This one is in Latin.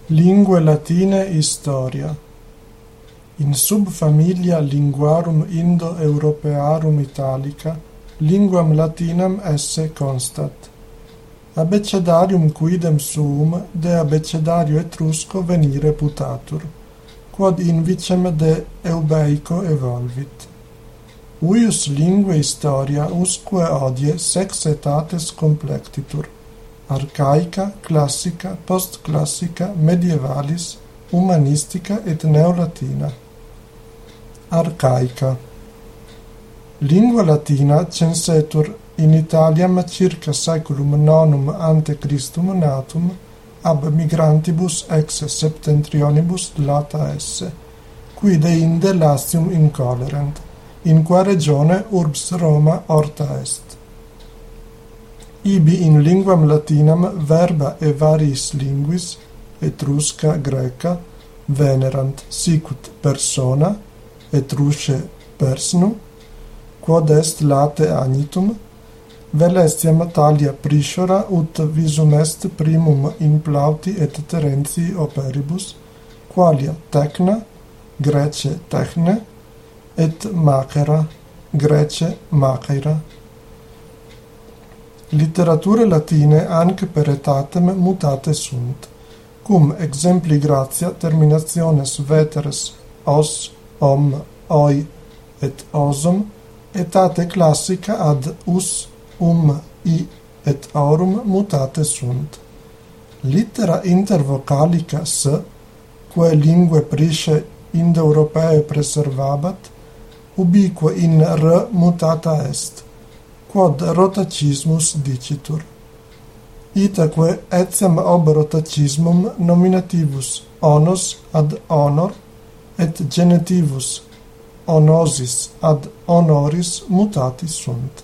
Lingue latine historia. In subfamilia linguarum Indo-Europearum Italica, linguam latinam esse constat. Abecedarium quidem suum de abecedario Etrusco venire putatur, quod invicem de Eubeico evolvit. Uius lingue historia usque odie sex etates complectitur, archaica, classica, postclassica, medievalis, humanistica et neolatina. Archaica. Lingua latina censetur in Italiam circa saeculum nonum ante Christum natum ab migrantibus ex septentrionibus lata esse, qui deinde Latium incolerent, in qua regione urbs Roma orta est. Ibi in linguam latinam verba e variis linguis, Etrusca, Greca, venerant sicut persona, Etrusce persnu, quod est late agnitum, vel estiam talia prishora ut visum est primum in Plauti et Terentii operibus, qualia tecna, Grece techne, et macera, Grece maceira. Literature latine anc per etatem mutate sunt, cum exempli gratia terminationes veteres os, om, oi et osum, etate classica ad us, i et aurum mutate sunt. Littera intervocalica s, quae lingue prisce Indo-Europae preservabat, ubique in r mutata est, quod rotacismus dicitur. Itaque etiam ob rotacismum nominativus onos ad honor et genitivus onosis ad honoris mutati sunt.